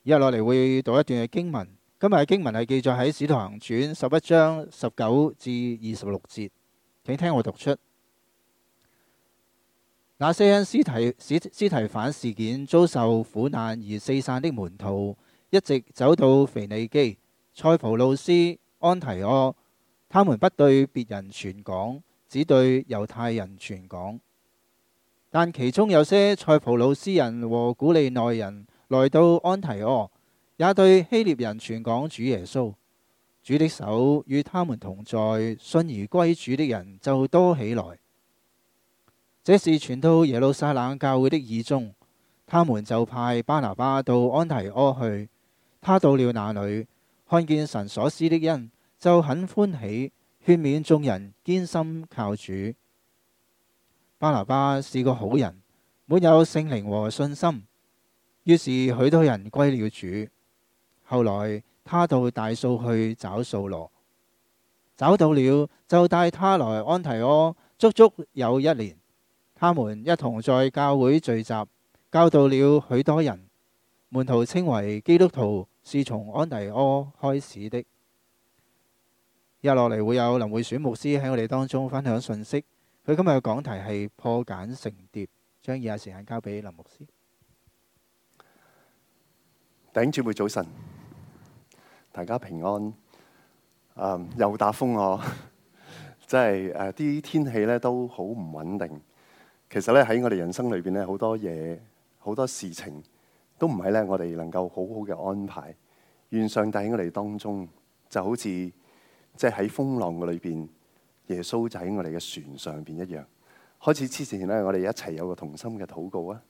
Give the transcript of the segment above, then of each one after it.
以下落嚟會讀一段嘅經文。今日嘅經文係記載喺《使徒行傳》11章19至26節，請聽我讀出。那些因司提反事件遭受苦難而四散的門徒，一直走到腓尼基、塞浦路斯、安提阿。他們不對別人傳講，只對猶太人傳講。但其中有些塞浦路斯人和古利奈人來到安提阿，也對希臘人傳講主耶穌。主的手與他們同在，信而歸主的人就多起來。這是傳到耶路撒冷教會的耳中，他們就派巴拿巴到安提阿去。他到了那裏，看見神所施的恩，就很歡喜，勸勉眾人堅心靠主。巴拿巴是個好人，滿有聖靈和信心，於是許多人歸了主。後來他到大數去找掃羅，找到了，就帶他來安提阿，足足有1年。他們一同在教會聚集，教導了許多人。門徒稱為基督徒是從安提阿開始的。接落嚟會有林會選牧師喺我哋當中分享信息。佢今日嘅講題係破繭成蝶，將以下時間交俾林牧師。 弟兄姊妹早晨，大家平安。又打風喎，即係啲天氣咧都好唔穩定。其實咧喺我哋人生裏邊咧，好多嘢、好多事情都唔係咧我哋能夠好好嘅安排。願上帝喺我哋當中，就好似即係喺風浪嘅裏邊，耶穌就喺我哋嘅船上邊一樣。開始之前咧，我哋一齊有個同心嘅禱告啊！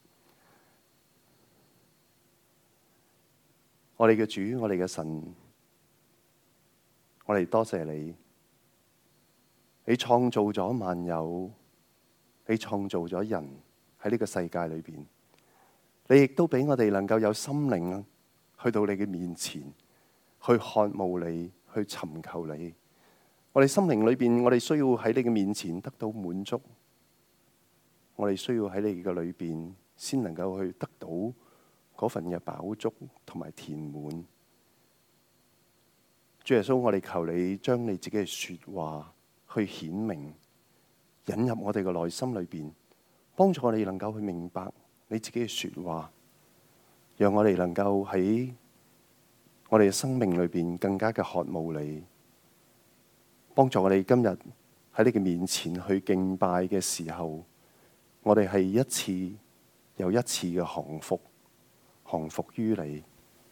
我哋嘅主，我哋嘅神，我哋多謝你，你創造咗萬有。你創造咗人喺呢個世界裏邊，你亦都俾我哋能夠有心靈去到你嘅面前，去渴慕你，去尋求你。我哋心靈裏邊，我哋需要喺你嘅面前得到滿足。我哋需要喺你嘅裏邊，先能夠去得到嗰份嘅飽足同埋填滿。主耶穌，我哋求你將你自己嘅說話去顯明，引入我哋嘅內心裏邊，幫助我哋能夠去明白你自己嘅說話，讓我哋能夠喺我哋嘅生命裏邊更加嘅渴慕你，幫助我哋今日喺你嘅面前去敬拜嘅時候，我哋係一次又一次嘅降服於你。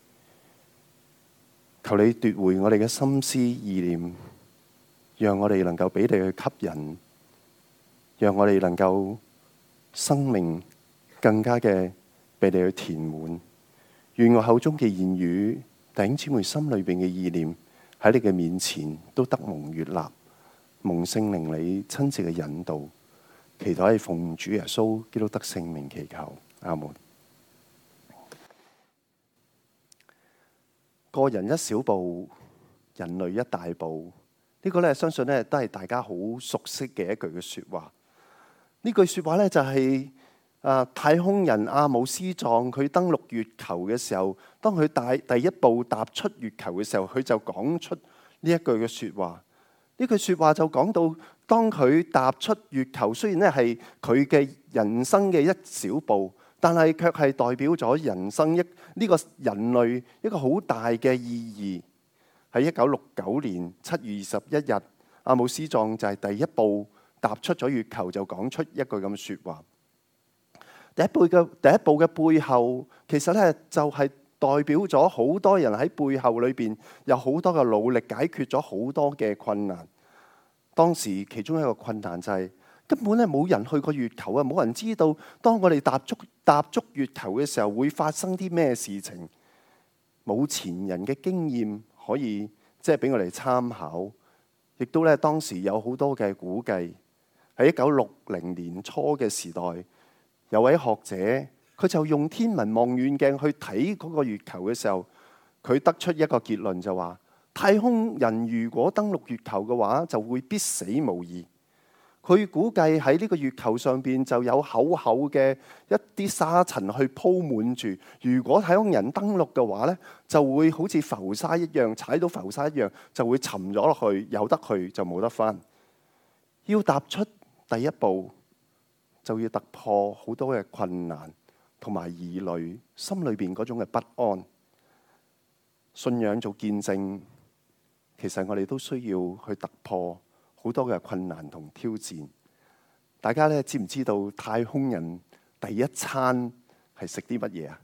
求你奪回我哋嘅心思意念，讓我哋能夠俾你去吸引。讓我哋能夠生命更加嘅被你去填滿，願我口中嘅言語、弟兄姊妹心裏邊嘅意念喺你嘅面前都得蒙悅納，蒙聖靈你親自嘅引導，祈禱係奉主耶穌基督得聖名祈求，阿門。個人一小步，人類一大步，呢個咧相信咧都係大家好熟悉嘅一句嘅說話。呢句說話咧就係太空人阿姆斯壯佢登陸月球嘅時候，當佢第一步踏出月球嘅時候，佢就講出呢一句嘅說話。呢句說話就講到，當佢踏出月球，雖然咧係佢嘅人生嘅一小步，但係卻係代表咗人生呢個人類一個好大嘅意義。喺1969年7月21日，阿姆斯壯就係第一步踏出咗月球，就講出一句咁嘅說話。第一步嘅背後，其實咧就係代表咗好多人喺背後裏邊有好多嘅努力，解決咗好多嘅困難。當時其中一個困難就係根本咧冇人去過月球啊，冇人知道當我哋踏足月球嘅時候會發生啲咩事情，冇前人嘅經驗可以即係俾我哋參考，亦都咧當時有好多嘅估計。喺1960年初嘅時代，有位學者佢就用天文望遠鏡去睇嗰個月球嘅時候，佢得出一個結論就話：太空人如果登陸月球嘅話，就會必死無疑。 佢估計喺呢個月球上邊就有厚厚嘅一啲沙塵去鋪滿住。如果太空人登陸嘅話呢，就會好似浮沙一樣，踩到浮沙一樣，就會沉咗落去，有得去就冇得返。要踏出第一步，就要突破好多嘅困難同埋疑慮，心裏邊嗰種嘅不安。信仰做見證，其實我哋都需要去突破好多嘅困難同挑戰。大家咧知唔知道太空人第一餐係食啲乜嘢啊？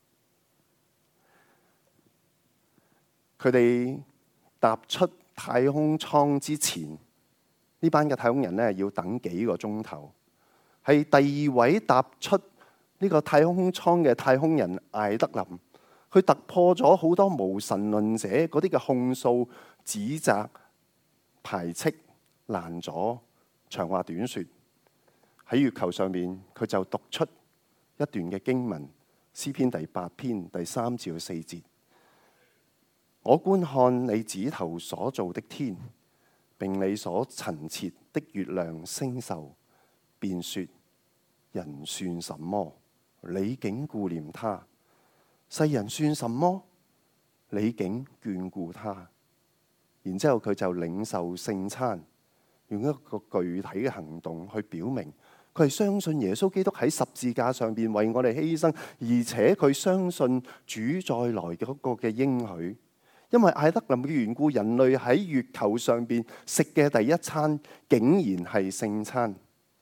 佢哋踏出太空艙之前，呢班嘅太空人咧要等幾個鐘頭。係第二位踏出呢個太空艙嘅太空人艾德林，佢突破咗好多無神論者嗰啲嘅控訴、指責、排斥、攔阻。長話短說，喺月球上面，佢就讀出一段嘅經文，詩篇第8篇第3至4節。我觀看你指頭所造的天，並你所陳設的月亮星宿，便說：人算什麼？你竟顧念他；世人算什麼？你竟眷顧他。然之後佢就領受聖餐，用一個具體嘅行動去表明佢係相信耶穌基督喺十字架上邊為我哋犧牲，而且佢相信主再來嘅嗰個嘅應許。因為艾德林嘅緣故，人類喺月球上邊食嘅第一餐竟然係聖餐。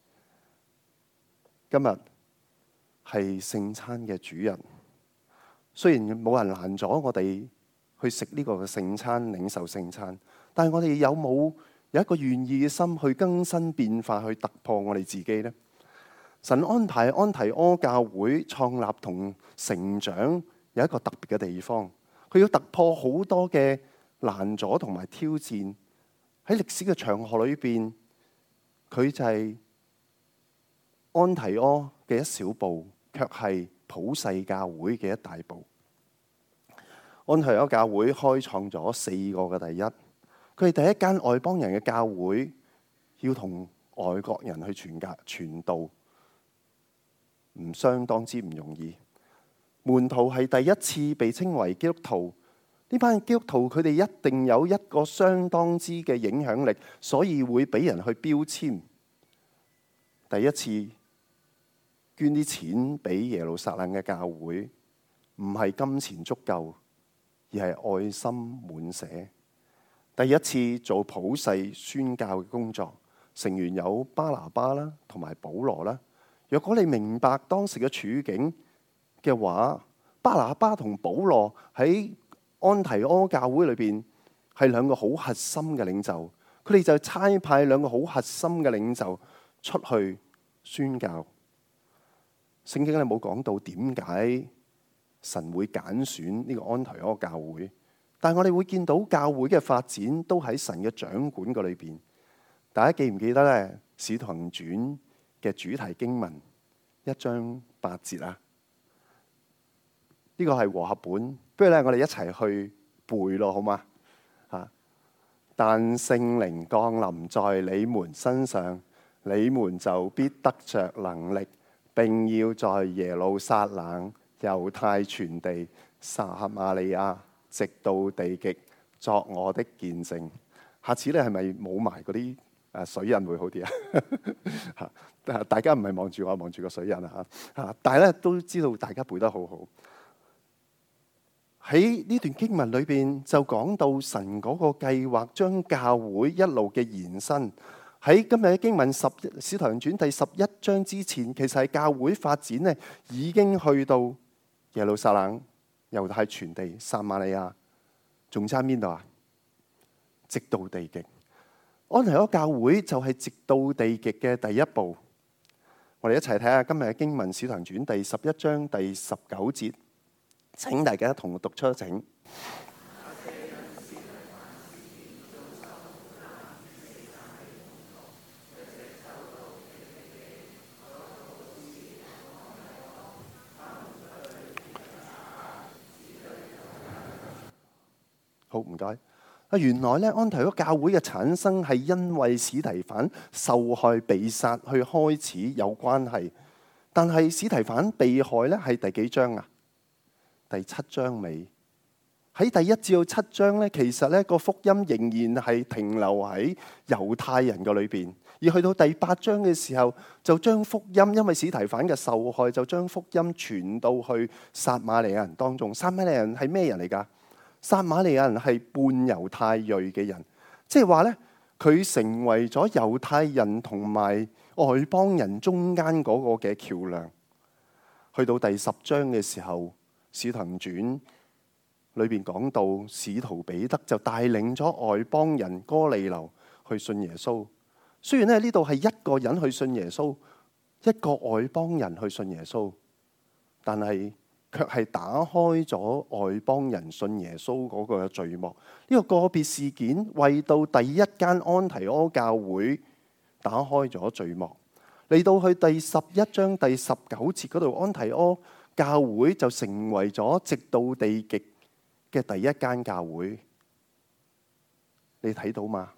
今日係聖餐嘅主日，雖然冇人攔阻我哋去食呢個嘅聖餐，領受聖餐，但係我哋有一個願意嘅心去更新變化，去突破我哋自己呢？神安排安提阿教會創立同成長有一個特別嘅地方。佢要突破好多嘅攔阻同埋挑戰，喺歷史嘅長河裏邊，佢就係安提阿嘅一小步，卻係普世教會嘅一大步。安提阿教會開創咗4個嘅第一，佢係第一間外邦人嘅教會，要同外國人去傳道，唔相當之唔容易。門徒係第一次被稱為基督徒，呢班基督徒佢哋一定有一個相當之嘅影響力，所以會俾人去標籤。第一次捐啲錢俾耶路撒冷嘅教會，唔係金錢足夠，而係愛心滿瀉。第一次做普世宣教嘅工作，成員有巴拿巴啦，同埋保羅啦。若果你明白當時嘅處境嘅話，巴拿巴同保羅喺安提阿教會裏邊係兩個好核心嘅領袖，佢哋就差派兩個好核心嘅領袖出去宣教。聖經咧冇講到點解神會揀選呢個安提阿教會，但係我哋會見到教會嘅發展都喺神嘅掌管嗰裏邊。大家記唔記得咧《使徒行傳》嘅主題經文1章8節啊？呢個係和合本，不如咧我哋一齊去背咯，好嗎？但聖靈降臨在你們身上，你們就必得着能力，並要在耶路撒冷、猶太全地、撒瑪利亞，直到地極，作我的見證。下次咧係咪冇埋嗰啲水印會好啲啊？大家唔係望住我，望住個水印啊！但係咧都知道大家背得好好。喺呢段經文裏邊就講到神嗰個計劃，將教會一路嘅延伸。喺今日嘅經文《使徒行傳》第11章之前，其實係教會發展咧已經去到耶路撒冷、猶太全地、撒瑪利亞，仲差邊度啊？直到地極。安提阿教會就係直到地極嘅第一步。我哋一齊睇下今日嘅經文《使徒行傳》第11章第19節。請大家同我讀出，請。好，唔該。 原來咧安提阿教會嘅產生係因為司提反受害被殺去開始有關係。但係司提反被害咧係第幾章啊？第7章尾。喺第1至到7章咧，其實咧個福音仍然係停留喺猶太人嘅裏邊。而去到第8章嘅時候，就將福音，因為司提反嘅受害，就將福音傳到去撒瑪利亞人當中。撒瑪利亞人係咩人嚟㗎？撒瑪利亞人係半猶太裔嘅人，即係話咧，佢成為咗猶太人同埋外邦人中間嗰個嘅橋樑。去到第10章嘅時候，《使徒行傳》裏邊講到，使徒彼得就帶領咗外邦人哥尼流去信耶穌。雖然咧呢度係一個人去信耶穌，一個外邦人去信耶穌，但係卻係打開咗外邦人信耶穌嗰個序幕。呢個個別事件為到第一間安提阿教會打開咗序幕。嚟到去第11章第19節嗰度，安提阿教會就成為咗直到地極嘅第一間教會。你睇到嗎？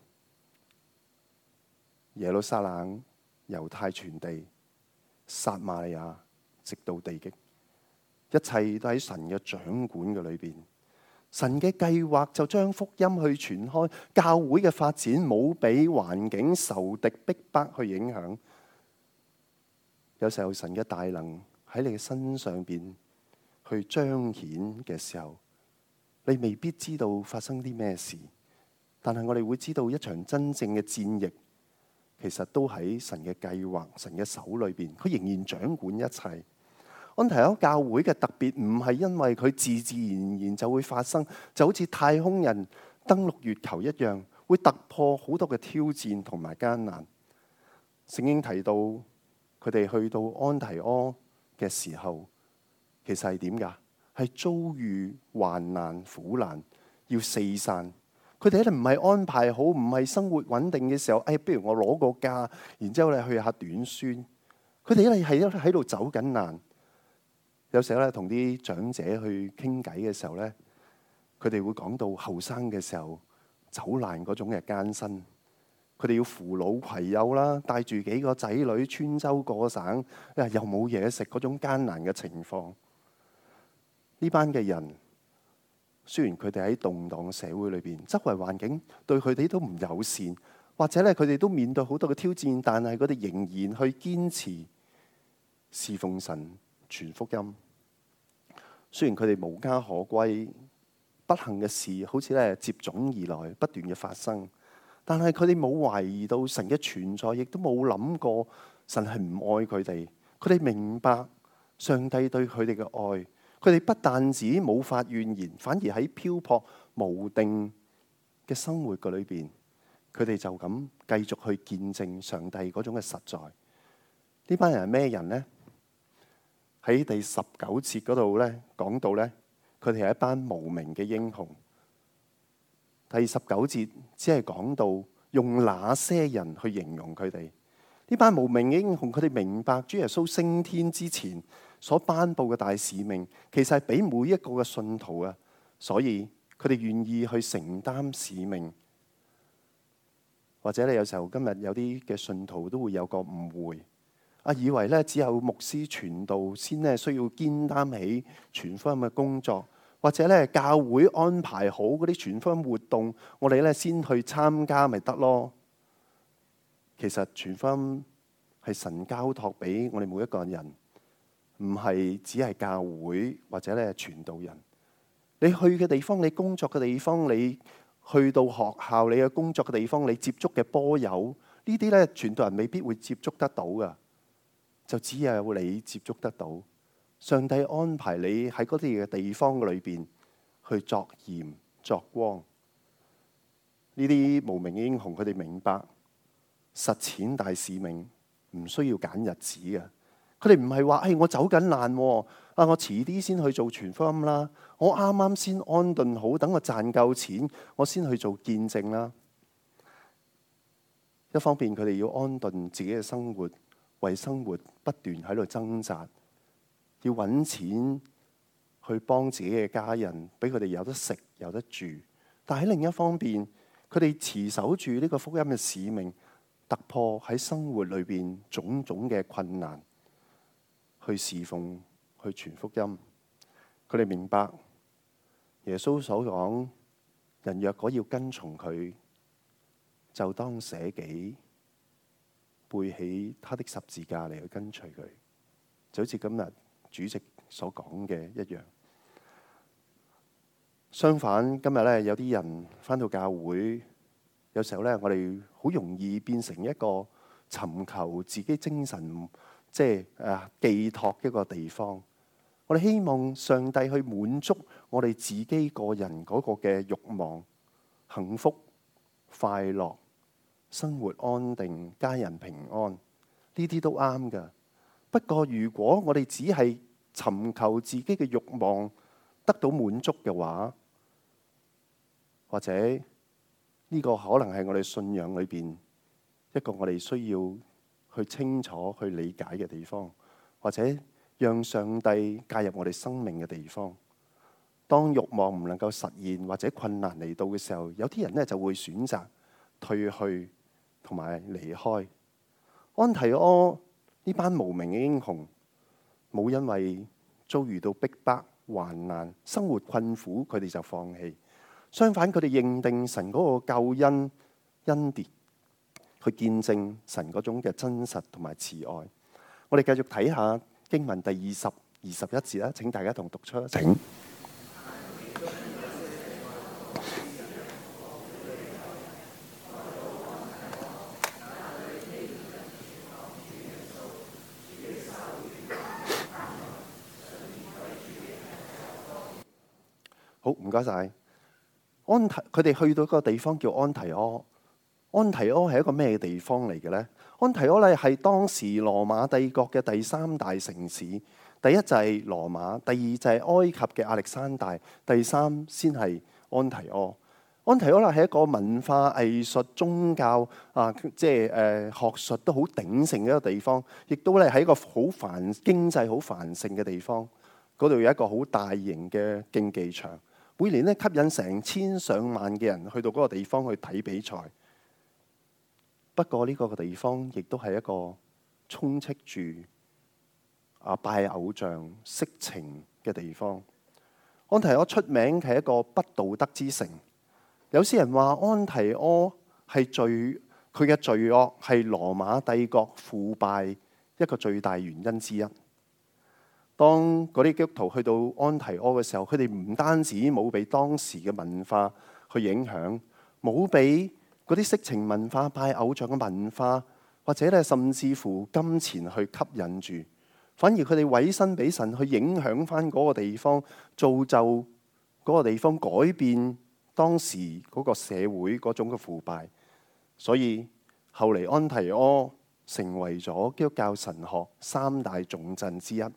耶路撒冷、猶太全地、撒瑪利亞，直到地極，一切都喺神嘅掌管嘅裏邊。神嘅計劃就將福音去傳開，教會嘅發展冇俾環境、仇敵逼迫去影響。有時候神嘅大能喺你嘅身上邊去彰顯嘅時候，你未必知道發生啲咩事，但係我哋會知道一場真正嘅戰役，其實都喺神嘅計劃、神嘅手裏邊，佢仍然掌管一切。安提阿教會嘅特別唔係因為佢自自然然就會發生，就好似太空人登陸月球一樣，會突破好多嘅挑戰同埋艱難。聖經提到佢哋去到安提阿嘅時候，其實係點㗎？係遭遇患難苦難，要四散。佢哋咧唔係安排好，唔係生活穩定嘅時候，不如我攞個假，然之後咧去下短宣。佢哋咧係喺度走緊難。有時候咧同啲長者去傾偈嘅時候咧，佢哋會講到後生嘅時候走難嗰種嘅艱辛。佢哋要扶老攜幼啦，帶住幾個仔女穿州過省，又冇嘢食嗰種艱難嘅情況。呢班嘅人，雖然佢哋喺動盪嘅社會裏邊，周圍環境對佢哋都唔友善，或者咧佢哋都面對好多嘅挑戰，但係佢哋仍然去堅持侍奉神、傳福音。雖然佢哋無家可歸，不幸嘅事好似咧接踵而來，不斷嘅發生，但係佢哋冇懷疑到神嘅存在，亦都冇諗過神係唔愛佢哋。佢哋明白上帝對佢哋嘅愛。佢哋不但止冇發怨言，反而喺漂泊無定嘅生活嘅裏邊，佢哋就咁繼續去見證上帝嗰種嘅實在。呢班人係咩人呢？喺第19節嗰度咧講到咧，佢哋係一班無名嘅英雄。第19節只係講到用那些人去形容佢哋。呢班無名嘅英雄，佢哋明白主耶穌升天之前所頒布嘅大使命，其實係俾每一個嘅信徒啊，所以佢哋願意去承擔使命。或者你有時候今日有啲嘅信徒都會有個誤會，以為咧只有牧師傳道先咧需要肩擔起傳福音嘅工作，或者咧教會安排好嗰啲傳福音活動，我哋咧先去參加咪得咯。其實傳福音係神交託俾我哋每一個人。唔係只係教會或者咧傳道人，你去嘅地方，你工作嘅地方，你去到學校，你嘅工作嘅地方，你接觸嘅波友，呢啲咧傳道人未必會接觸得到噶，就只有你接觸得到。上帝安排你喺嗰啲嘅地方裏邊去作鹽作光。呢啲無名嘅英雄，佢哋明白實踐大使命唔需要揀日子嘅。佢哋唔係話，我走緊難，我遲啲先去做傳福音啦。我啱啱先安頓好，等我賺夠錢，我先去做見證啦。一方面，佢哋要安頓自己嘅生活，為生活不斷喺度掙扎，要揾錢去幫自己嘅家人，俾佢哋有得食有得住， 但喺另一方面，佢哋持守住呢個福音嘅使命，突破喺生活裏邊種種嘅困難，去侍奉，去傳福音。佢哋明白耶穌所講，人若果要跟從佢，就當捨己，背起他的十字架嚟去跟隨佢。就好似今日主席所講嘅一樣。相反，今日咧有啲人返到教會，有時候咧我哋好容易變成一個尋求自己精神寄託一個地方。我哋希望上帝去滿足我哋自己個人嗰個嘅慾望、幸福、快樂、生活安定、家人平安，呢啲都啱㗎。不過如果我哋只係尋求自己嘅慾望得到滿足嘅話，或者呢個可能係我哋信仰裏邊一個我哋需要去清楚去理解嘅地方，或者讓上帝介入我哋生命嘅地方。當慾望唔能夠實現或者困難嚟到嘅時候，有啲人呢就會選擇退去同埋離開。安提阿呢班無名嘅英雄，冇因為遭遇到逼迫、患難、生活困苦，佢哋就放棄。相反，佢哋認定神嗰個救恩恩典，去見證神嗰種嘅真實同埋慈愛。我哋繼續睇下經文第20、21節啦，請大家同讀出。請。好，唔該晒。佢哋去到一個地方叫安提阿。安提阿係一個咩地方嚟嘅呢？安提阿咧係當時羅馬帝國嘅第三大城市。第一就係羅馬，第二就係埃及嘅亞歷山大，第三先係安提阿。安提阿咧係一個文化、藝術、宗教學術都好鼎盛嘅一個地方，亦都咧係一個好經濟好繁盛嘅地方。嗰度有一個好大型嘅競技場。每年咧吸引成千上萬嘅人去到嗰個地方去睇比賽。不過呢個地方亦都係一個充斥住拜偶像、色情嘅地方。安提阿出名係一個不道德之城。有些人話安提阿係佢嘅罪惡係羅馬帝國腐敗一個最大原因之一。當嗰啲基督徒去到安提阿嘅時候，佢哋唔單止冇被當時嘅文化去影響，冇被嗰啲色情文化、拜偶像嘅文化，或者咧甚至乎金錢去吸引住，反而佢哋委身俾神去影響翻嗰個地方，造就嗰個地方，改變當時嗰個社會嗰種嘅腐敗。所以後嚟安提阿成為咗基督教神學三大重鎮之一。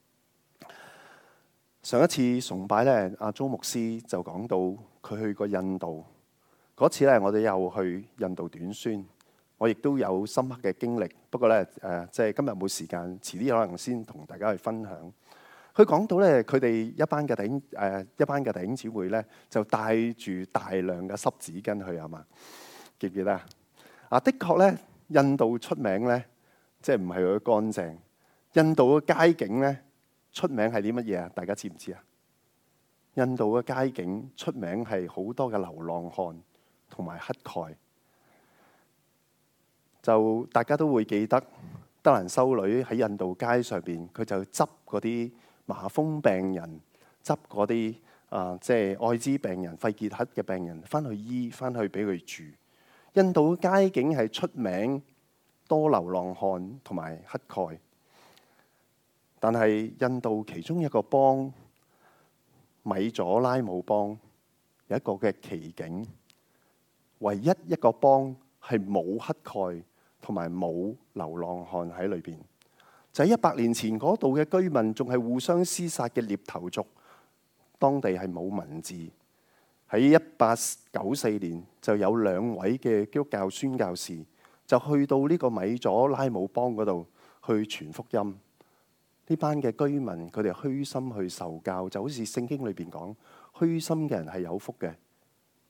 上一次崇拜咧，阿周牧師就講到佢去過印度嗰次咧，我哋又去印度短宣，我亦都有深刻嘅經歷。不過咧，即係今日冇時間，遲啲可能先同大家去分享。佢講到咧，佢哋一班嘅弟兄姊妹咧，就帶住大量嘅濕紙巾去，係嘛？記唔記得啊？的確咧，印度出名咧，即係唔係佢乾淨。印度嘅街景咧，出名係啲乜嘢啊？大家知唔知啊？印度嘅街景出名係好多嘅流浪漢同埋乞丐。就大家都會記得德蘭修女喺印度街上邊，佢就執嗰啲麻風病人，執嗰啲即係愛滋病人、肺結核嘅病人，翻去醫，翻去俾佢住。印度嘅街景係出名多流浪漢同埋乞丐。但係印度其中一個邦米佐拉姆邦有一個嘅奇景，唯一一個邦係冇乞丐同埋冇流浪漢喺裏邊。就喺100年前嗰度嘅居民仲係互相廝殺嘅獵頭族，當地係冇文字。喺1894年就有2位嘅基督教宣教士就去到呢個米佐拉姆邦嗰度去傳福音。呢班嘅居民佢哋虛心去受教，就好似聖經裏邊講，虛心嘅人係有福嘅，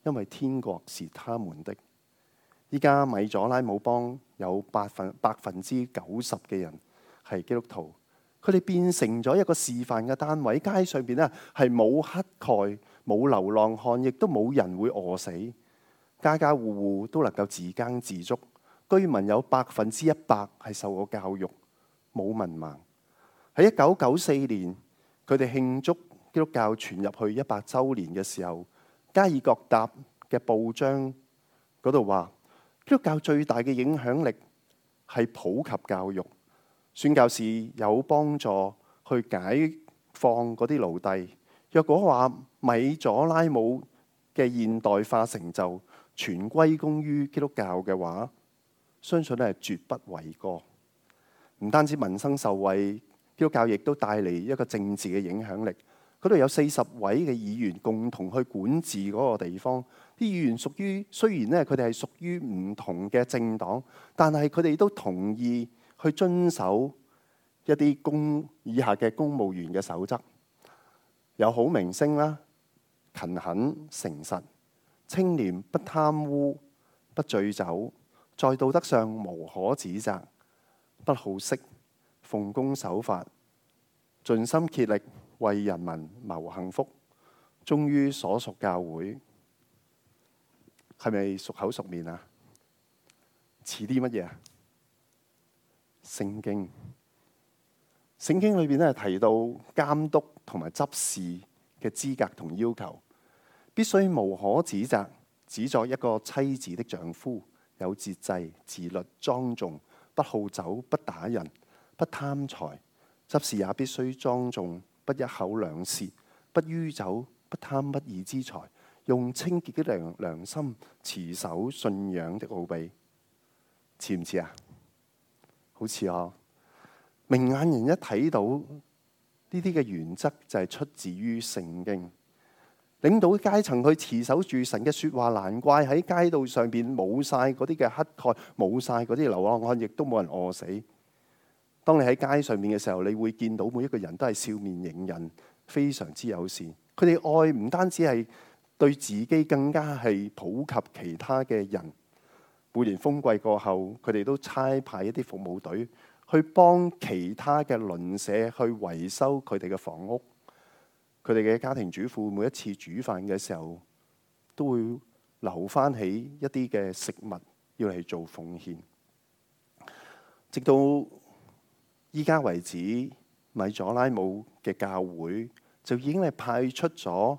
因為天國是他們的。依家米佐拉姆邦有百分之90嘅人係基督徒，佢哋變成咗一個示範嘅單位。街上邊咧係冇乞丐、冇流浪漢，亦都冇人會餓死。家家戶戶都能夠自耕自足，居民有100%係受過教育，冇文盲。喺1994年，佢哋慶祝基督教傳入去100週年嘅時候，加爾各答嘅報章嗰度話，基督教最大嘅影響力係普及教育，宣教士有幫助去解放嗰啲奴隸。若果話米佐拉姆嘅現代化成就全歸功於基督教嘅話，相信係絕不為過。唔單止民生受惠，基督教亦都帶嚟一個政治嘅影響力。嗰度有40位嘅議員共同去管治嗰個地方。啲議員雖然咧佢哋係屬於唔同嘅政黨，但係佢哋都同意去遵守一啲以下嘅公務員嘅守則，有好名聲啦，勤懇誠實，清廉不貪污，不醉酒，在道德上無可指責，不好色，奉公守法，盡心竭力為人民謀幸福，忠於所屬教會。係咪熟口熟面啊？似啲乜嘢啊？聖經裏邊咧提到監督同埋執事嘅資格同要求，必須無可指責，只作一個妻子的丈夫，有節制、自律、莊重，不好酒，不打人，不貪財。執事也必須莊重，不一口兩舌，不酗酒，不貪不義之財，用清潔的良心持守信仰的奧秘。似唔似啊？好似啊！明眼人一睇到呢啲嘅原則，就係出自於聖經。領導階層去持守住神嘅說話，難怪喺街道上邊冇晒嗰啲嘅乞丐，冇晒嗰啲流浪漢，亦都冇人餓死。當你喺街上面嘅時候，你會見到每一個人都係笑面迎人，非常之友善。佢哋愛唔單止係對自己，更加係普及其他嘅人。每年風季過後，佢哋都差派一啲服務隊去幫其他嘅鄰舍去維修佢哋嘅房屋。佢哋嘅家庭主婦每一次煮飯嘅時候，都會留翻起一啲嘅食物要嚟做奉獻。直到依家為止，米佐拉姆嘅教會就已經係派出咗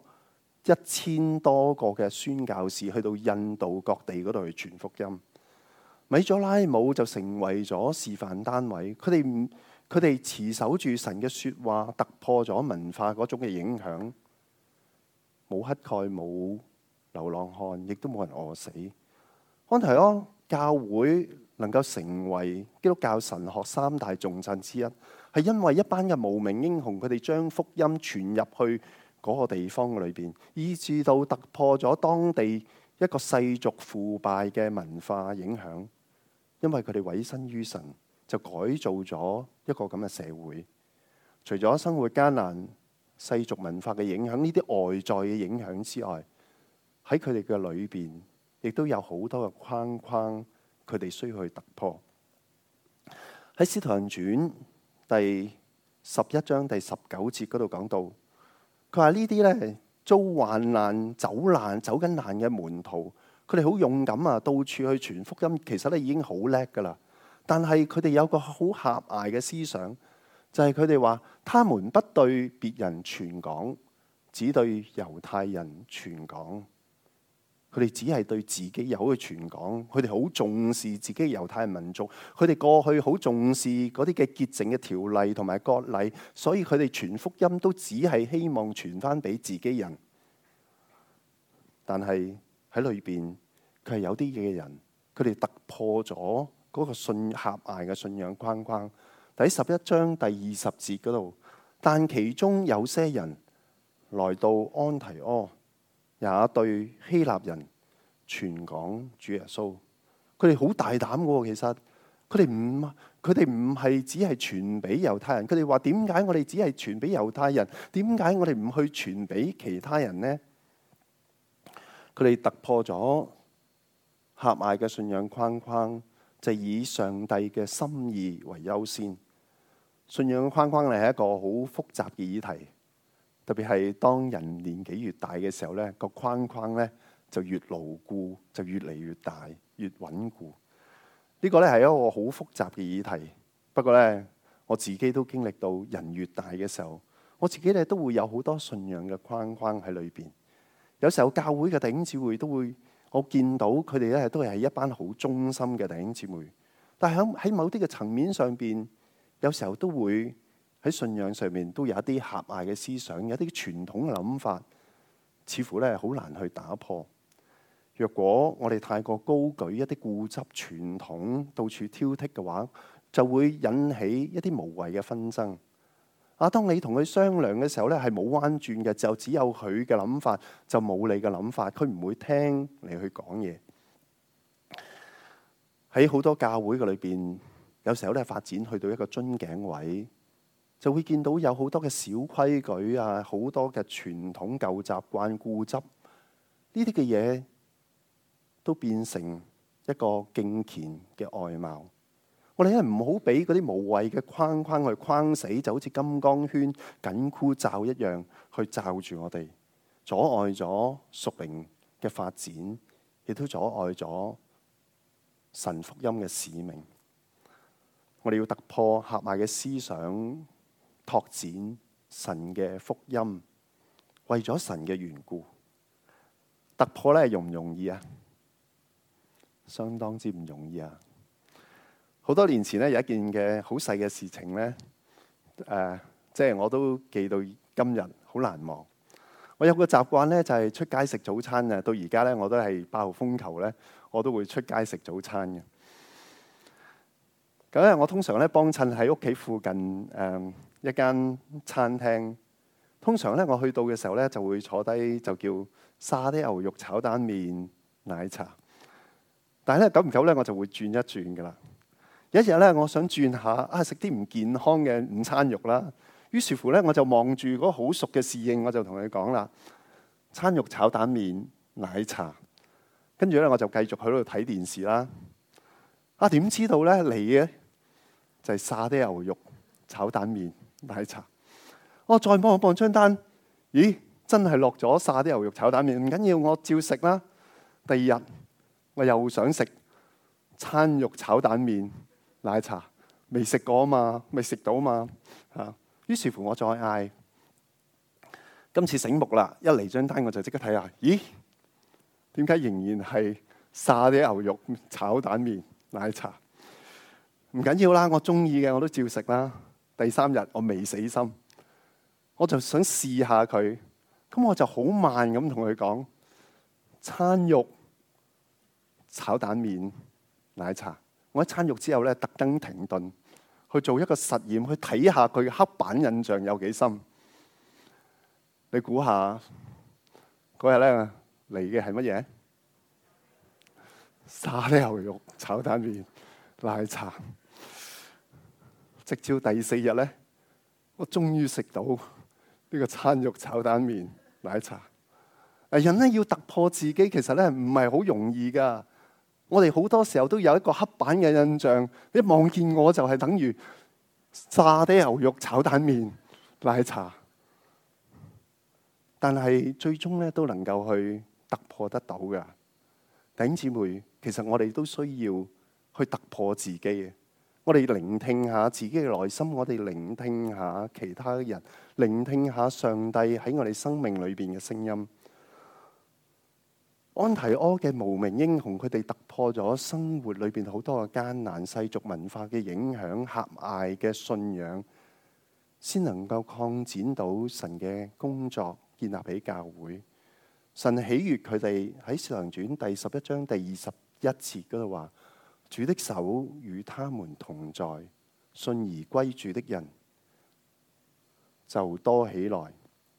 1000多個嘅宣教士去到印度各地嗰度去傳福音。米佐拉姆就成為咗示範單位，佢哋持守住神嘅說話，突破咗文化嗰種嘅影響。冇乞丐，冇流浪漢，亦都冇人餓死。安提阿教會能夠成為基督教神學3大重鎮之一，係因為一班嘅無名英雄，佢哋將福音傳入去嗰個地方裏邊，以至到突破咗當地一個世俗腐敗嘅文化影響。因為佢哋委身於神，就改造咗一個咁嘅社會。除咗生活艱難、世俗文化嘅影響，呢啲外在嘅影響之外，喺佢哋嘅裏邊，亦都有好多嘅框框，佢哋需要去突破。喺《使徒行傳》第11章第19節嗰度講到，佢話呢啲咧遭患難、走緊難嘅門徒，佢哋好勇敢啊，到處去傳福音，其實咧已經好叻噶啦。但係佢哋有個好狹隘嘅思想，就係佢哋話，他們不對別人傳講，只對猶太人傳講。佢哋只係對自己有去傳講，佢哋好重視自己猶太人民族，佢哋過去好重視嗰啲嘅潔淨嘅條例同埋割禮，所以佢哋傳福音都只係希望傳翻俾自己人。但係喺裏邊，佢係有啲嘅人，佢哋突破咗嗰個狹隘嘅信仰框框。第11章第20節嗰度，但其中有些人來到安提阿，也對希臘人傳講主耶穌。佢哋好大膽嘅，其實佢哋唔係只係傳俾猶太人。佢哋話，點解我哋只係傳俾猶太人？點解我哋唔去傳俾其他人呢？ 佢哋突破咗狹隘嘅信仰框框，就以上帝嘅心意為優先。信仰框框係一個好複雜嘅議題，特別係當人年紀越大嘅時候，呢個框框呢就越牢固，就越嚟越大，越穩固。呢個呢係一個好複雜嘅議題。不過呢，我自己都經歷到人越大嘅時候，我自己呢都會有好多信仰嘅框框喺裏邊。有時候教會嘅弟兄姊妹都會，我見到佢哋呢都係一班好忠心嘅弟兄姊妹。但係喺某啲嘅層面上邊，有時候都會喺信仰上面都有一啲狹隘嘅思想，有啲傳統嘅諗法，似乎呢好難去打破。若果我哋太過高舉一啲固執傳統，到處挑剔嘅話，就會引起一啲無謂嘅紛爭。當你同佢商量嘅時候呢，係冇彎轉嘅，就只有佢嘅諗法，就冇你嘅諗法，佢唔會聽你去講嘢。喺好多教會嘅裏邊，有時候咧發展去到一個樽頸位，就會見到有好多嘅小規矩啊，好多嘅傳統舊習慣、固執呢啲嘅嘢，都變成一個敬虔嘅外貌。我哋咧唔好俾嗰啲無謂嘅框框去框死，就好似金剛圈、緊箍罩一樣去罩住我哋，阻礙咗屬靈嘅發展，亦都阻礙咗神福音嘅使命。我哋要突破狹隘嘅思想，拓展神嘅福音，為咗神嘅緣故。突破咧容唔容易啊？相當之唔容易啊！好多年前咧有一件嘅好細嘅事情咧，即係我都記到今日好難忘。我有個習慣咧，就係出街食早餐啊。到而家咧，我都係8號風球咧，我都會出街食早餐嘅。咁咧，我通常咧幫襯喺屋企附近一間餐廳。通常咧我去到嘅時候咧，就會坐低就叫沙爹牛肉炒蛋麵奶茶。但係咧久唔久咧，我就會轉一轉噶啦。有一日咧，我想轉下食啲唔健康嘅午餐肉啦。於是乎咧，我就望住嗰個好熟嘅侍應，我就同佢講啦：餐肉炒蛋麵奶茶。跟住咧，我就繼續喺度睇電視啦。點知道咧嚟嘅就係沙爹牛肉炒蛋麵奶茶。我再望一望張單，咦，真係落咗沙爹牛肉炒蛋麵。唔緊要，我照食啦。第二日我又想食餐肉炒蛋麵奶茶，未食過啊嘛，未食到啊嘛嚇。於是乎我再嗌，今次醒目啦！一嚟張單我就即刻睇下，咦？點解仍然係沙爹牛肉炒蛋麵奶茶？唔緊要啦，我中意嘅我都照食啦。第3日我未死心，我就想試下佢。咁我就好慢咁同佢講：餐肉炒蛋麵奶茶。我一餐肉之後咧，特登停頓去做一個實驗，去睇下佢嘅刻板印象有幾深。你估下嗰日咧嚟嘅係乜嘢？沙爹牛肉炒蛋麵奶茶。直至第4日咧，我終於食到呢個餐肉炒蛋麵奶茶。人咧要突破自己，其實咧唔係好容易噶。我哋好多時候都有一個刻板嘅印象，一望見我就係等於沙爹牛肉炒蛋麵奶茶。但係最終咧都能夠去突破得到噶。弟兄姊妹，其實我哋都需要去突破自己嘅。我哋聆聽下自己嘅內心，我哋聆聽下其他人，聆聽下上帝喺我哋生命裏邊嘅聲音。安提阿嘅無名英雄，佢哋突破咗生活裏邊好多嘅艱難、世俗文化嘅影響、狹隘嘅信仰，先能夠擴展到神嘅工作，建立起教會。神喜悅佢哋喺《使徒行傳》第11章第21節嗰度話：主的手與他們同在，信而歸主的人就多起來。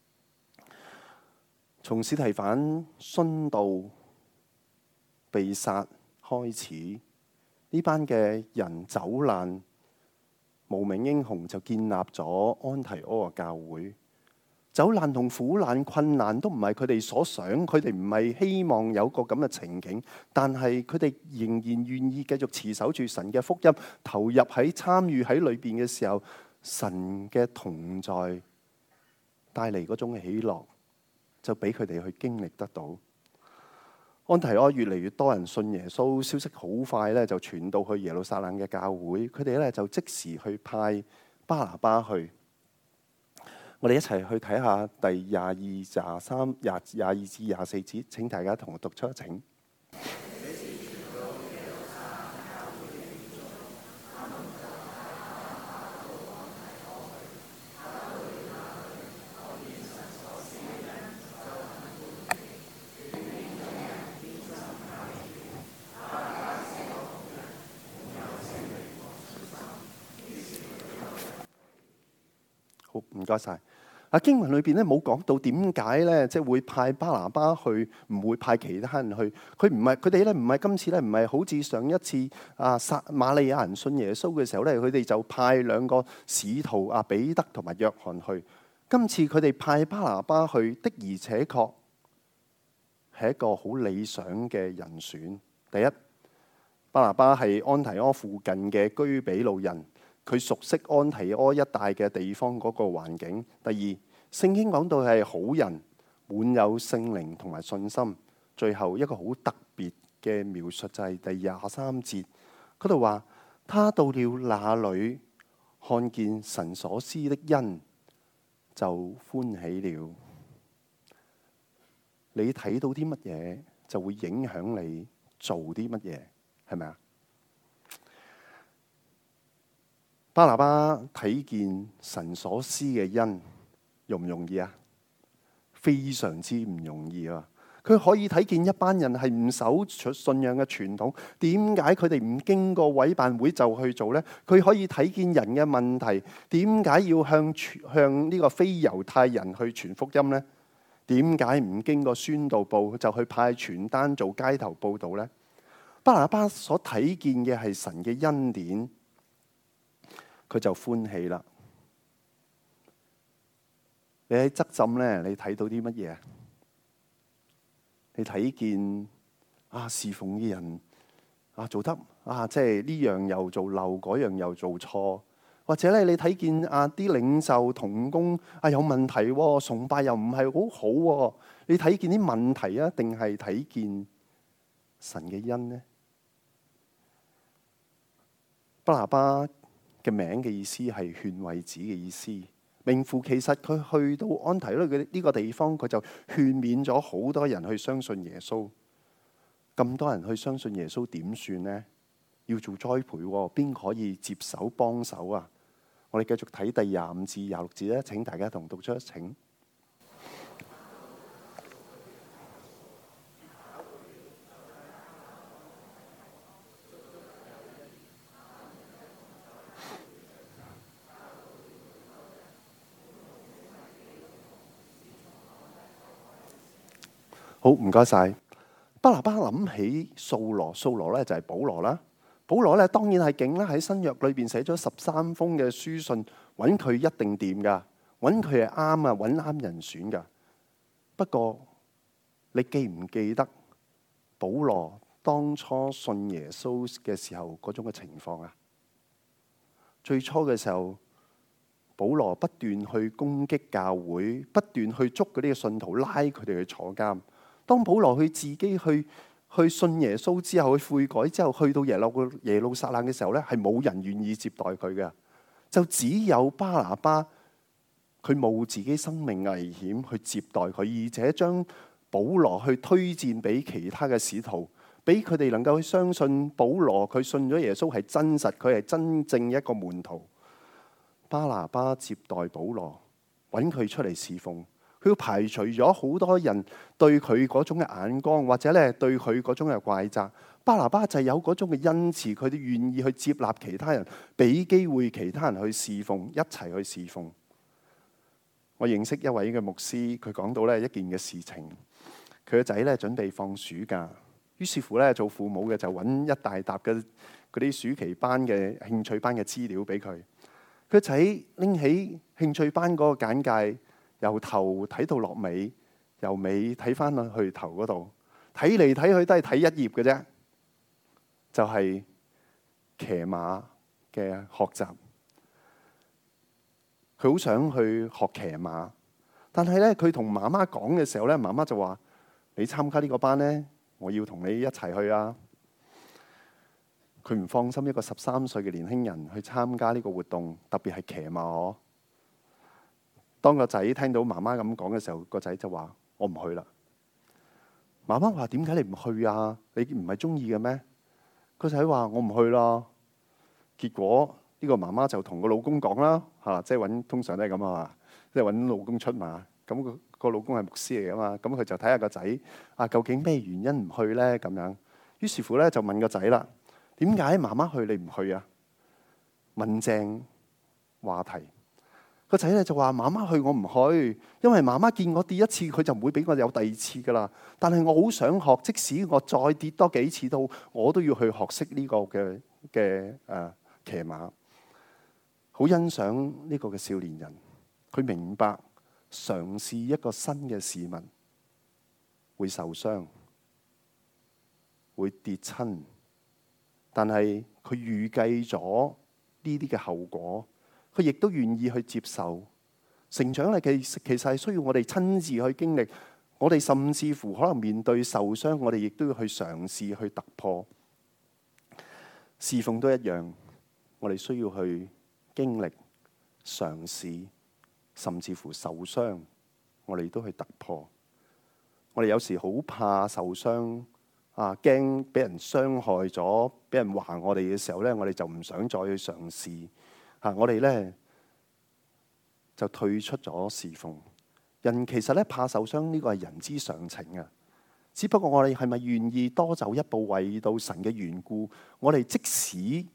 從司提反殉道被殺開始，呢班嘅人走難，無名英雄就建立咗安提阿嘅教會。 走難同苦難困難都唔係佢哋所想，佢哋唔係希望有個咁嘅情景，但係佢哋仍然願意繼續持守住神嘅福音，投入喺參與喺裏邊嘅時候，神嘅同在帶嚟嗰種喜樂，就俾佢哋去經歷得到。安提阿越嚟越多人信耶穌，消息好快咧就傳到去耶路撒冷嘅教會，佢哋咧就即時去派巴拿巴去。我哋一齊去睇下第22、23、22至24節，請大家同我讀出，請。好，唔該晒。經文裏邊咧冇講到點解咧，即係會派巴拿巴去，唔會派其他人去。佢哋咧唔係今次咧，唔係好似上一次瑪利亞人信耶穌嘅時候咧，佢哋就派2個使徒彼得同埋約翰去。今次佢哋派巴拿巴去的，而且確係一個好理想嘅人選。第一，巴拿巴係安提阿附近嘅居比路人。佢熟悉安提阿一帶嘅地方嗰個環境。第二，聖經講到係好人，滿有聖靈同埋信心。最後一個好特別嘅描述就係第23節嗰度話，他到了那裏，看見神所施的恩，就歡喜了。你睇到啲乜嘢，就會影響你做啲乜嘢，係咪啊？巴拿巴睇見神所施嘅恩，容唔容易啊？非常之唔容易啊！佢可以睇見一班人係唔守信仰嘅傳統，點解佢哋唔經過委辦會就去做呢？佢可以睇見人嘅問題，點解要向呢個非猶太人去傳福音呢？點解唔經過宣道部就去派傳單做街頭報道呢？巴拿巴所睇見嘅係神嘅恩典。佢就歡喜啦。你喺側浸咧，你睇到啲乜嘢？你睇見侍奉嘅人做得即係呢樣又做漏，嗰樣又做錯，或者咧你睇見啲領袖同工有問題喎，崇拜又唔係好好喎。你睇見啲問題啊，定係睇見神嘅恩呢？巴拿巴嘅名嘅意思係勸慰子嘅意思，名副其實。佢去到安提阿呢個地方，佢就勸勉咗好多人去相信耶穌。咁多人去相信耶穌點算呢？要做栽培，邊可以接手幫手啊？我哋繼續睇第25至26節咧，請大家同讀出，請。好，唔該晒。巴拿巴諗起掃羅，掃羅咧就係保羅啦。保羅咧當然係勁啦，喺新約裏邊寫咗13封嘅書信，揾佢一定掂噶，揾佢係啱啊，揾啱人選噶。不過你記唔記得保羅當初信耶穌嘅時候嗰種嘅情況啊？最初嘅時候，保羅不斷去攻擊教會，不斷去捉嗰啲嘅信徒，拉佢哋去坐監。當保羅去自己去信耶穌之後，去悔改之後，去到耶路撒冷嘅時候咧，係冇人願意接待佢嘅，就只有巴拿巴，佢冒自己生命危險去接待佢，而且將保羅去推薦俾其他嘅使徒，俾佢哋能夠去相信保羅佢信咗耶穌係真實，佢係真正一個門徒。巴拿巴接待保羅，揾佢出嚟侍奉。佢要排除咗好多人對佢嗰種嘅眼光，或者咧對佢嗰種嘅怪責。巴拿巴就有嗰種嘅恩慈，佢哋願意去接納其他人，俾機會其他人去侍奉，一齊去侍奉。我認識一位嘅牧師，佢講到咧一件嘅事情，佢個仔咧準備放暑假，於是乎咧做父母嘅就揾一大沓嘅嗰啲暑期班嘅興趣班嘅資料俾佢。佢個仔拎起興趣班嗰個簡介， 由頭睇到落尾，由尾睇翻去頭嗰度，睇嚟睇去都係睇一頁嘅啫，就係騎馬嘅學習。佢好想去學騎馬，但係咧佢同媽媽講嘅時候咧，媽媽就話：你參加呢個班咧，我要同你一齊去啊！佢唔放心一個13歲嘅年輕人去參加呢個活動，特別係騎馬。當個仔聽到媽媽咁講嘅時候，個仔就話：我唔去啦。媽媽話：點解你唔去啊？你唔係中意嘅咩？個仔話：我唔去啦。結果呢個媽媽就同個老公講啦，即係通常都係咁啊，即係揾老公出馬。咁個老公係牧師嚟噶嘛，咁佢就睇下個仔究竟咩原因唔去呢？咁樣，於是乎咧就問個仔啦：點解媽媽去你唔去啊？問正話題。個仔咧就話：媽媽去我唔去，因為媽媽見我跌一次，佢就唔會俾我有第二次噶啦。但係我好想學，即使我再跌多幾次都，我都要去學識呢個嘅騎馬。好欣賞呢個嘅少年人，佢明白嘗試一個新嘅事物會受傷，會跌親，但係佢預計咗呢啲嘅後果。佢亦都願意去接受成長咧，其實係需要我哋親自去經歷。我哋甚至乎可能面對受傷，我哋亦都要去嘗試去突破。侍奉都一樣，我哋需要去經歷、嘗試，甚至乎受傷，我哋都去突破。我哋有時好怕受傷驚俾人傷害咗，俾人話我哋嘅時候咧，我哋就唔想再去嘗試。我哋咧就退出咗侍奉。人其實咧怕受傷，呢個係人之常情啊。只不過我哋係咪願意多走一步，為到神嘅緣故？我哋即使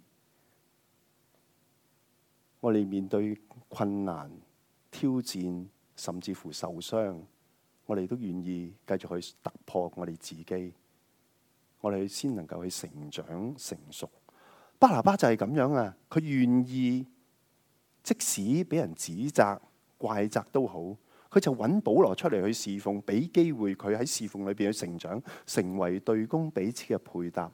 我哋面對困難、挑戰，甚至乎受傷，我哋都願意繼續去突破我哋自己，我哋先能夠去成長成熟。巴拿巴就係咁樣啊，佢願意。即使俾人指責、怪責都好，佢就揾保羅出嚟去侍奉，俾機會佢喺侍奉裏邊去成長，成為對公彼此嘅配搭。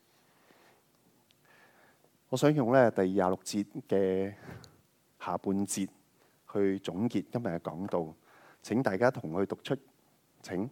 我想用咧第26節嘅下半節去總結今日嘅講道，請大家同我去讀出，請。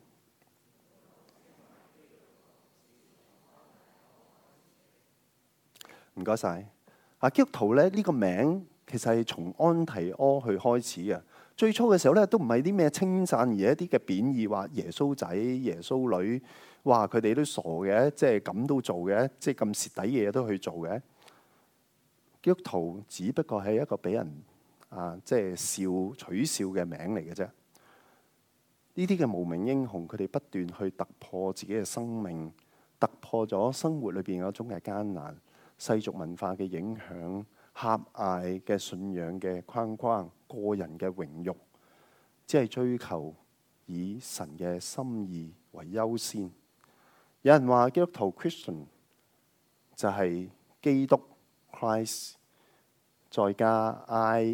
唔該晒。基督徒咧呢個名。其實係從安提阿去開始嘅。最初嘅時候咧，都唔係啲咩稱讚，而係一啲嘅貶義，話耶穌仔、耶穌女，哇佢哋都傻嘅，即係咁都做嘅，即係咁蝕底嘅嘢都去做嘅。基督徒只不過係一個俾人即係取笑嘅名嚟嘅啫。呢啲嘅無名英雄，佢哋不斷去突破自己嘅生命，突破咗生活裏邊嗰種嘅艱難、世俗文化嘅影響。狹隘嘅信仰嘅框框，個人嘅榮辱，只係追求以神嘅心意為優先。有人話基督徒 Christian 就係基督 Christ 再加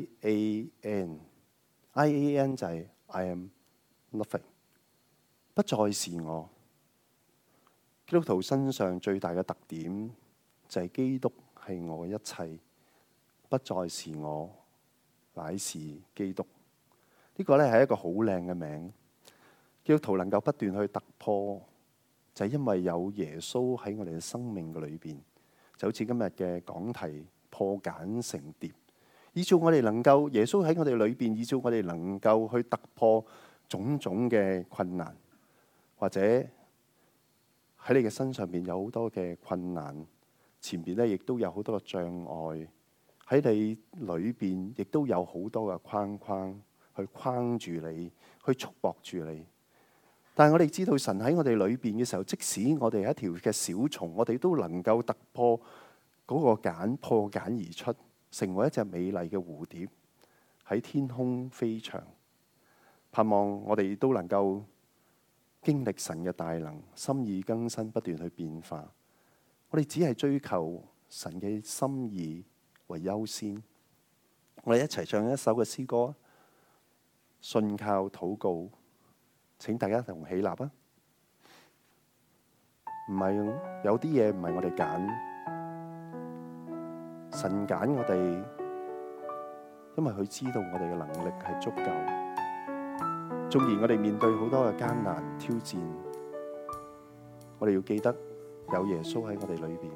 IAN 就係 I am nothing， 不再是我。基督徒身上最大嘅特點就係基督係我一切。不再是我，乃是基督。呢個咧係一個好靚嘅名。基督徒能夠不斷去突破，就係因為有耶穌喺我哋嘅生命嘅裏邊，就好似今日嘅講題破繭成蝶，以致我哋能夠耶穌喺我哋裏邊，以致我哋能夠去突破種種嘅困難，或者喺你嘅身上邊有好多嘅困難，前邊咧亦都有好多嘅障礙。喺你裏邊，亦都有好多嘅框框去框住你，去束縛住你。但係我哋知道神喺我哋裏邊嘅時候，即使我哋係一條嘅小蟲，我哋都能夠突破嗰個繭，破繭而出，成為一隻美麗嘅蝴蝶喺天空飛翔。盼望我哋都能夠經歷神嘅大能，心意更新，不斷去變化。我哋只係追求神嘅心意為優先。我哋一齊唱一首嘅詩歌。 信靠禱告。請大家同起立啊！唔係，有啲嘢唔係我哋揀，神揀我哋，因為佢知道我哋嘅能力係足夠。縱然我哋面對好多嘅艱難挑戰，我哋要記得有耶穌喺我哋裏邊。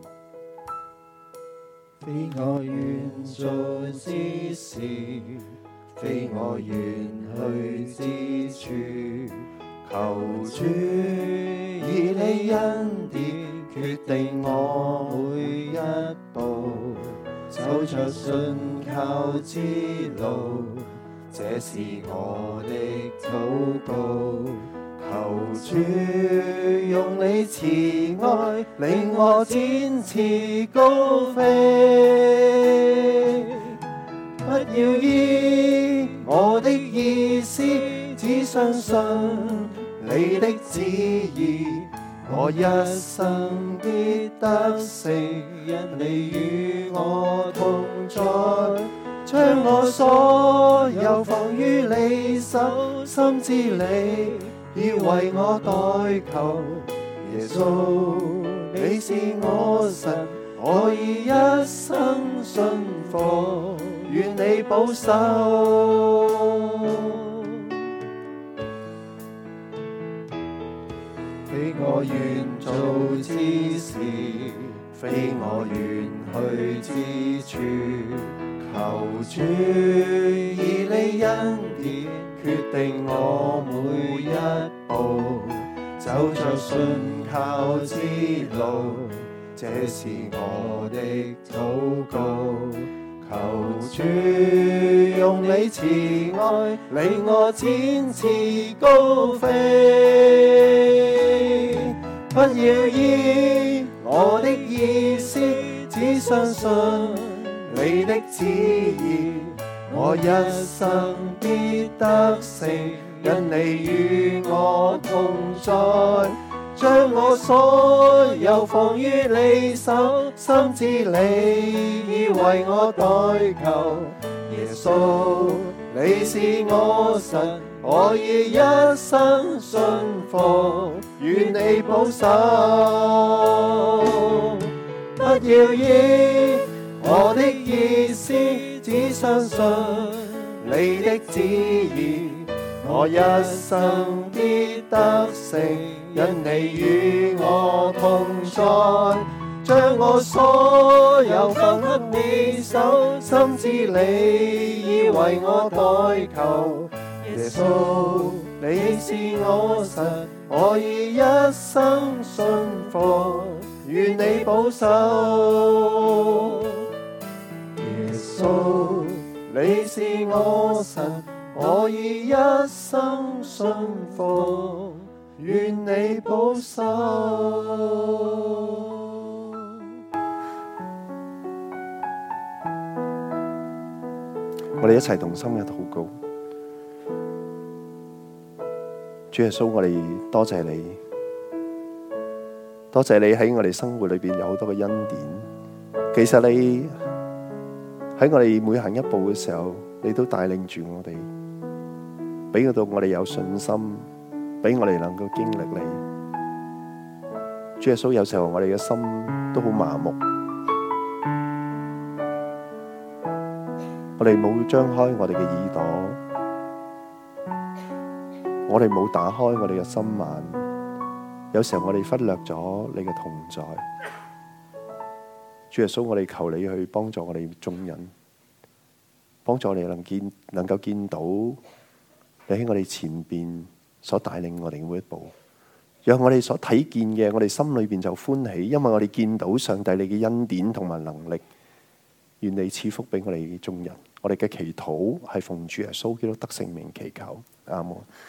非我願做之事，非我願去之處，求主以你恩典決定我每一步，走着信靠之路，這是我的禱告。求主用你慈愛令我展翅高飛，不要依我的意思，只相信你的旨意，我一生必得勝，因你與我同在。將我所有放於你手，深知你已為我代求。耶穌，你是我神，我已一生信服，願你保守。非我願做之事，非我願去之處，求主以你恩典決定我每一步，走着信靠之路，這是我的禱告。求主用你慈愛令我展翅高飛，不要依我的意思，只相信你的旨意，我一生必得勝，因你與我同在。將我所有放於你手，深知你已為我代求。耶穌，你是我神，我已一生信服，願你保守。不要依我的意思，只相信你的旨意，我一生必得勝，因你與我同在。將我所有放給你手，深知你已為我代求。耶穌，你是我神，我已一生信服，願你保守。耶穌，你是我神，我已一生信服，願你保守。 我哋一齊同心嘅禱告。主耶穌，我哋多謝你，多謝你喺我哋生活裏邊有好多嘅恩典。其實你喺我哋每行一步嘅時候，你都帶領住我哋，俾到我哋有信心，俾我哋能夠經歷你。主耶穌，有時候我哋嘅心都好麻木，我哋冇張開我哋嘅耳朵，我哋冇打開我哋嘅心眼，有時候我哋忽略咗你嘅同在。主耶穌，我哋求你去幫助我哋眾人，幫助我哋能夠見到你喺我哋前邊所帶領我哋每一步，讓我哋所睇見嘅，我哋心裏邊就歡喜，因為我哋見到上帝你嘅恩典同埋能力。願你賜福俾我哋眾人。我哋嘅祈禱係奉主耶穌基督得勝名祈求，阿門。